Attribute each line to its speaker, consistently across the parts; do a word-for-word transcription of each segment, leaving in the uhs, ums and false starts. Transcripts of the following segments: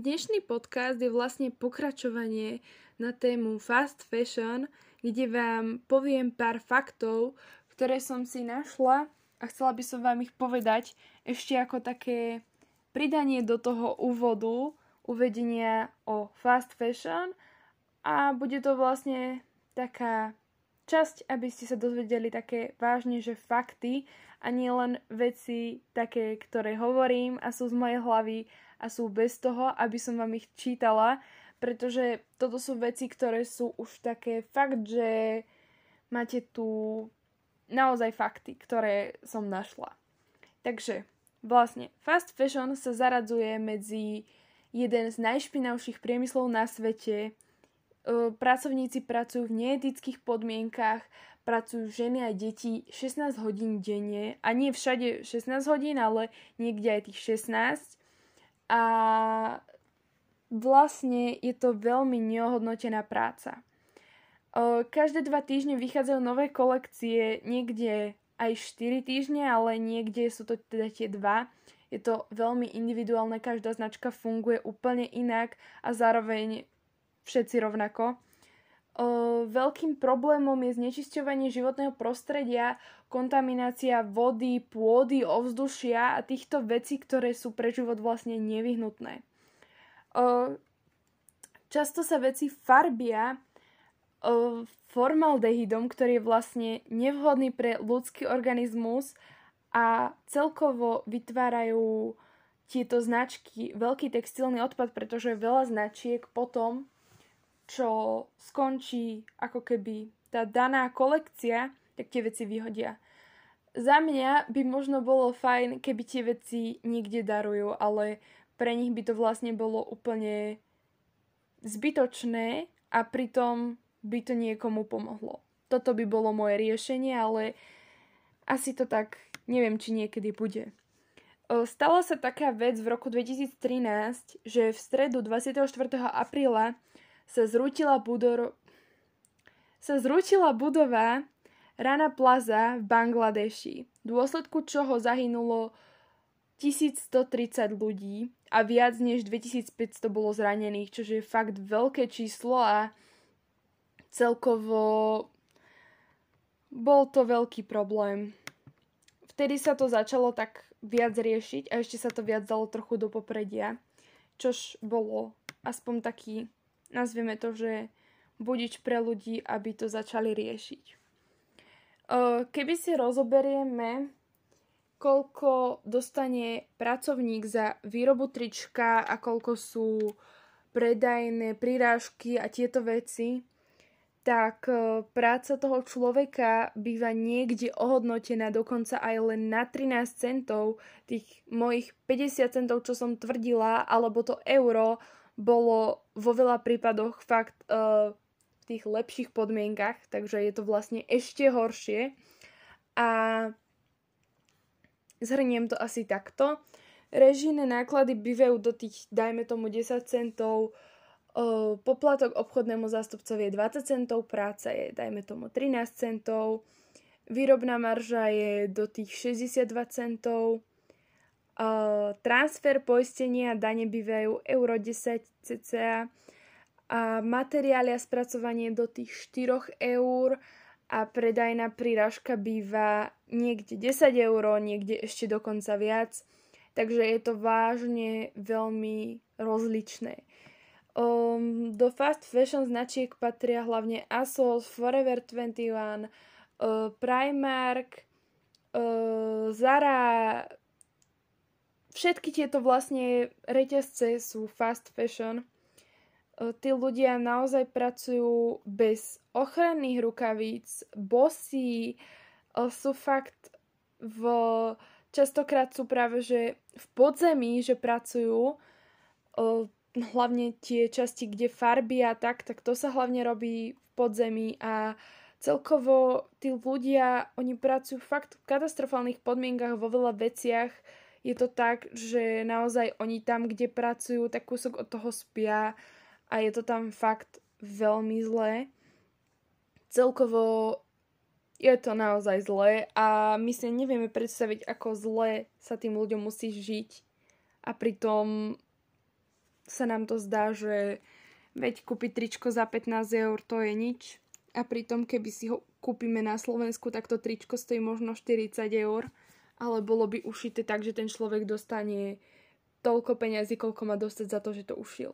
Speaker 1: dnešný podcast je vlastne pokračovanie na tému fast fashion, kde vám poviem pár faktov, ktoré som si našla a chcela by som vám ich povedať ešte ako také pridanie do toho úvodu, uvedenia o fast fashion a bude to vlastne taká časť, aby ste sa dozvedeli také vážne, že fakty a nie len veci také, ktoré hovorím a sú z mojej hlavy a sú bez toho, aby som vám ich čítala, pretože toto sú veci, ktoré sú už také fakt, že máte tu naozaj fakty, ktoré som našla. Takže vlastne fast fashion sa zaradzuje medzi jeden z najšpinavších priemyslov na svete. Pracovníci pracujú v neetických podmienkach, pracujú ženy a deti šestnásť hodín denne a nie všade šestnásť hodín, ale niekde aj tých šestnásť. A vlastne je to veľmi neohodnotená práca. Každé dva týždne vychádzajú nové kolekcie, niekde aj štyri týždne, ale niekde sú to teda tie dva. Je to veľmi individuálne, každá značka funguje úplne inak a zároveň všetci rovnako. O, veľkým problémom je znečisťovanie životného prostredia, kontaminácia vody, pôdy, ovzdušia a týchto vecí, ktoré sú pre život vlastne nevyhnutné. O, často sa veci farbia o, formaldehydom, ktorý je vlastne nevhodný pre ľudský organizmus a celkovo vytvárajú tieto značky veľký textilný odpad, pretože veľa značiek potom, čo skončí ako keby tá daná kolekcia, tak tie veci vyhodia. Za mňa by možno bolo fajn, keby tie veci niekde darujú, ale pre nich by to vlastne bolo úplne zbytočné a pritom by to niekomu pomohlo. Toto by bolo moje riešenie, ale asi to tak neviem, či niekedy bude. Stala sa taká vec v roku dvetisíctrinásť, že v stredu dvadsiateho štvrtého apríla sa zrútila, budor... sa zrútila budova Rana Plaza v Bangladeši, v dôsledku čoho zahynulo tisícstotridsať ľudí a viac než dvetisícpäťsto bolo zranených, čo je fakt veľké číslo a celkovo bol to veľký problém. Vtedy sa to začalo tak viac riešiť a ešte sa to viac dalo trochu do popredia, čož bolo aspoň taký, nazvieme to, že budič pre ľudí, aby to začali riešiť. Keby si rozoberieme, koľko dostane pracovník za výrobu trička a koľko sú predajné prírážky a tieto veci, tak práca toho človeka býva niekde ohodnotená dokonca aj len na trinásť centov. Tých mojich päťdesiat centov, čo som tvrdila, alebo to euro, bolo vo veľa prípadoch fakt uh, v tých lepších podmienkach, takže je to vlastne ešte horšie. A zhrniem to asi takto. Režijné náklady bývajú do tých, dajme tomu, desať centov, uh, poplatok obchodnému zástupcovi je dvadsať centov, práca je, dajme tomu, trinásť centov, výrobná marža je do tých šesťdesiatdva centov, Uh, transfer, poistenia a dane bývajú euro desať cca a materiály a spracovanie do tých štyri eur a predajná prírážka býva niekde desať eur, niekde ešte dokonca viac. Takže je to vážne veľmi rozličné. Um, do fast fashion značiek patria hlavne ASOS, Forever dvadsaťjeden, uh, Primark, uh, Zara. Všetky tieto vlastne reťazce sú fast fashion. Tí ľudia naozaj pracujú bez ochranných rukavíc, bosí, sú fakt v... Častokrát sú práve, že v podzemí, že pracujú, hlavne tie časti, kde farby a tak, tak to sa hlavne robí v podzemí a celkovo tí ľudia, oni pracujú fakt v katastrofálnych podmienkach vo veľa veciach. Je to tak, že naozaj oni tam, kde pracujú, tak kúsok od toho spia a je to tam fakt veľmi zlé. Celkovo je to naozaj zlé a my si nevieme predstaviť, ako zle sa tým ľuďom musí žiť a pritom sa nám to zdá, že veď kúpiť tričko za pätnásť eur to je nič. A pritom, keby si ho kúpime na Slovensku, tak to tričko stojí možno štyridsať eur. Ale bolo by ušité tak, že ten človek dostane toľko peňazí, koľko má dostať za to, že to ušil.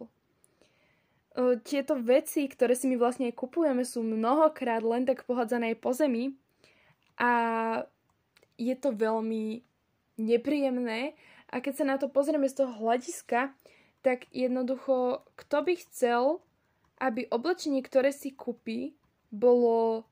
Speaker 1: Tieto veci, ktoré si my vlastne kupujeme, sú mnohokrát len tak pohádzané po zemi a je to veľmi nepríjemné. A keď sa na to pozrieme z toho hľadiska, tak jednoducho, kto by chcel, aby oblečenie, ktoré si kúpi, bolo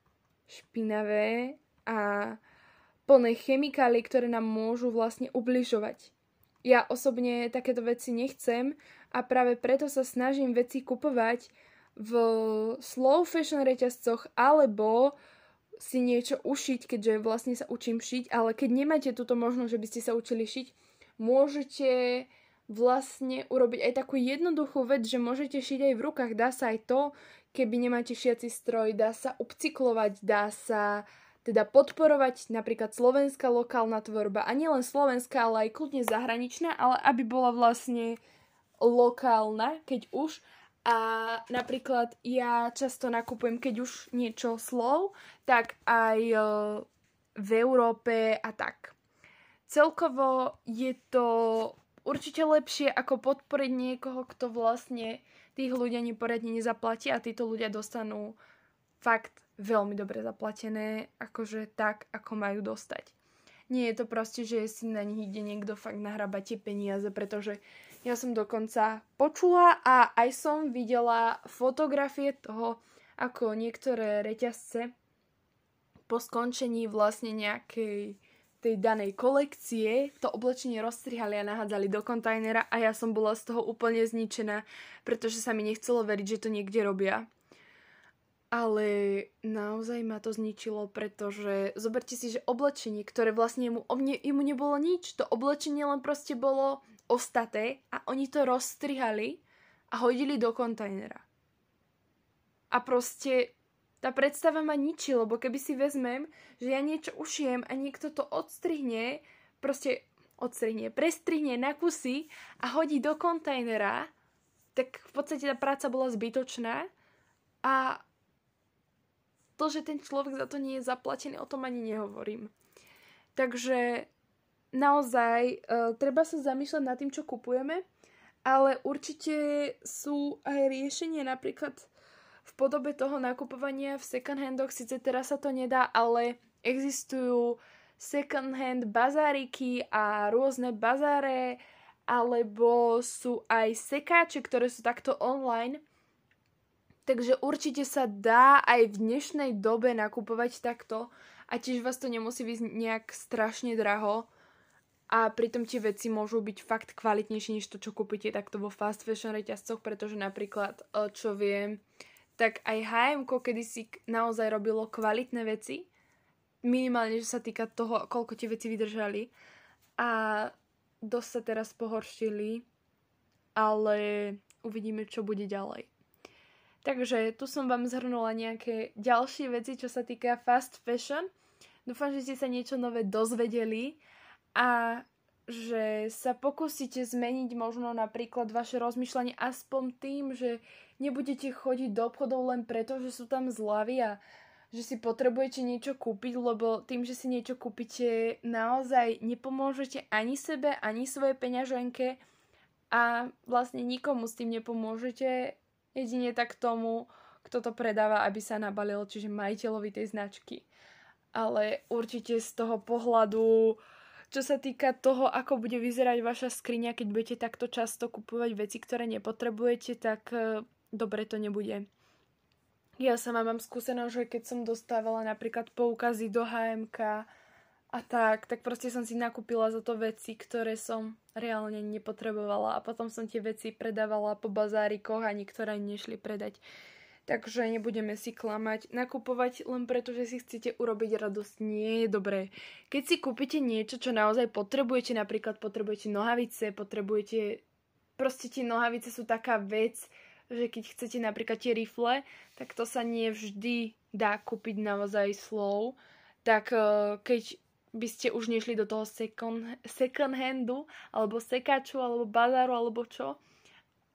Speaker 1: špinavé a plné chemikálií, ktoré nám môžu vlastne ubližovať. Ja osobne takéto veci nechcem a práve preto sa snažím veci kupovať v slow fashion reťazcoch alebo si niečo ušiť, keďže vlastne sa učím šiť, ale keď nemáte túto možnosť, že by ste sa učili šiť, môžete vlastne urobiť aj takú jednoduchú vec, že môžete šiť aj v rukách. Dá sa aj to, keby nemáte šiaci stroj, dá sa upcyklovať, dá sa teda podporovať napríklad slovenská lokálna tvorba. A nielen slovenská, ale aj kľudne zahraničná, ale aby bola vlastne lokálna, keď už. A napríklad ja často nakupujem, keď už niečo slow, tak aj v Európe a tak. Celkovo je to určite lepšie, ako podporiť niekoho, kto vlastne tých ľudia neporiadne nezaplatí a títo ľudia dostanú fakt veľmi dobre zaplatené, akože tak, ako majú dostať. Nie je to proste, že si na nich ide niekto fakt nahrabať tie peniaze, pretože ja som dokonca počula a aj som videla fotografie toho, ako niektoré reťazce po skončení vlastne nejakej tej danej kolekcie to oblečenie rozstrihali a nahádzali do kontajnera a ja som bola z toho úplne zničená, pretože sa mi nechcelo veriť, že to niekde robia. Ale naozaj ma to zničilo, pretože zoberte si, že oblečenie, ktoré vlastne mu, mne, mu nebolo nič, to oblečenie len proste bolo ostaté a oni to rozstrihali a hodili do kontajnera. A proste tá predstava ma ničí, lebo keby si vezmem, že ja niečo ušijem a niekto to odstrihne, proste odstrihne, prestrihne na kusy a hodí do kontajnera, tak v podstate tá práca bola zbytočná a to, že ten človek za to nie je zaplatený, o tom ani nehovorím. Takže naozaj e, treba sa zamýšľať nad tým, čo kupujeme, ale určite sú aj riešenia napríklad v podobe toho nakupovania v second handoch. Sice teraz sa to nedá, ale existujú second hand bazáriky a rôzne bazáre, alebo sú aj sekáče, ktoré sú takto online. Takže určite sa dá aj v dnešnej dobe nakupovať takto a tiež vás to nemusí byť nejak strašne draho a pritom tie veci môžu byť fakt kvalitnejšie než to, čo kúpite takto vo fast fashion reťazcoch, pretože napríklad, čo viem, tak aj há emko kedysi naozaj robilo kvalitné veci, minimálne, že sa týka toho, koľko tie veci vydržali a dosť sa teraz pohoršili, ale uvidíme, čo bude ďalej. Takže tu som vám zhrnula nejaké ďalšie veci, čo sa týka fast fashion. Dúfam, že ste sa niečo nové dozvedeli a že sa pokúsite zmeniť možno napríklad vaše rozmýšľanie aspoň tým, že nebudete chodiť do obchodov len preto, že sú tam zľavy a že si potrebujete niečo kúpiť, lebo tým, že si niečo kúpite, naozaj nepomôžete ani sebe, ani svojej peňaženke a vlastne nikomu s tým nepomôžete, jedine tak tomu, kto to predáva, aby sa nabalil, čiže majiteľovi tej značky. Ale určite z toho pohľadu, čo sa týka toho, ako bude vyzerať vaša skriňa, keď budete takto často kupovať veci, ktoré nepotrebujete, tak dobre to nebude. Ja sama mám skúsenosť, že keď som dostávala napríklad poukazy do há emka a tak, tak proste som si nakúpila za to veci, ktoré som reálne nepotrebovala a potom som tie veci predávala po bazárikoch a niektoré nešli predať. Takže nebudeme si klamať. Nakupovať len preto, že si chcete urobiť radosť, nie je dobré. Keď si kúpite niečo, čo naozaj potrebujete, napríklad potrebujete nohavice, potrebujete... Proste tie nohavice sú taká vec, že keď chcete napríklad tie rifle, tak to sa nie vždy dá kúpiť naozaj slow. Tak keď by ste už nešli do toho second, second handu, alebo sekáču, alebo bazáru, alebo čo,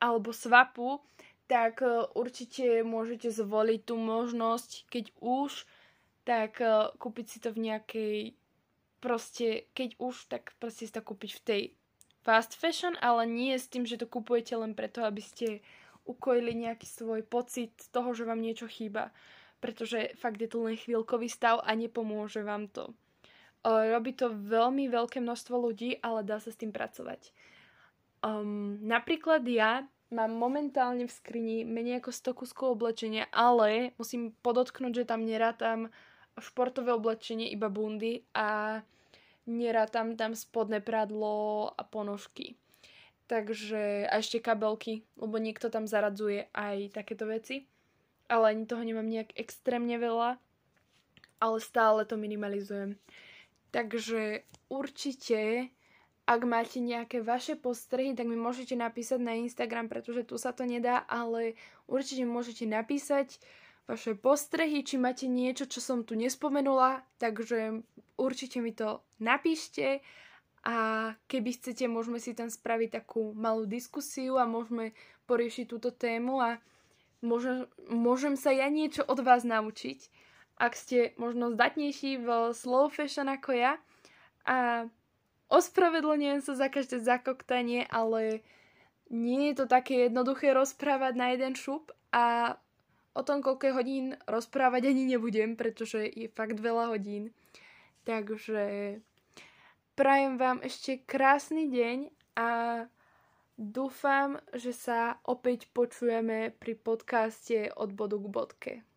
Speaker 1: alebo swapu, tak určite môžete zvoliť tú možnosť, keď už, tak kúpiť si to v nejakej, proste, keď už, tak proste si to kúpiť v tej fast fashion, ale nie s tým, že to kupujete len preto, aby ste ukojili nejaký svoj pocit toho, že vám niečo chýba. Pretože fakt je to len chvíľkový stav a nepomôže vám to. Robí to veľmi veľké množstvo ľudí, ale dá sa s tým pracovať. Um, napríklad ja mám momentálne v skrini menej ako sto kuskov oblečenia, ale musím podotknúť, že tam nerátam športové oblečenie, iba bundy a nerátam tam spodné prádlo a ponožky. Takže a ešte kabelky, lebo niekto tam zaradzuje aj takéto veci. Ale ani toho nemám nejak extrémne veľa, ale stále to minimalizujem. Takže určite, ak máte nejaké vaše postrehy, tak mi môžete napísať na Instagram, pretože tu sa to nedá, ale určite môžete napísať vaše postrehy, či máte niečo, čo som tu nespomenula, takže určite mi to napíšte a keby chcete, môžeme si tam spraviť takú malú diskusiu a môžeme poriešiť túto tému a Môžem, môžem sa ja niečo od vás naučiť, ak ste možno zdatnejší v slow fashion ako ja. A ospravedlňujem sa za každé zakoktanie, ale nie je to také jednoduché rozprávať na jeden šup a o tom, koľko hodín rozprávať ani nebudem, pretože je fakt veľa hodín. Takže prajem vám ešte krásny deň a dúfam, že sa opäť počujeme pri podcaste Od bodu k bodke.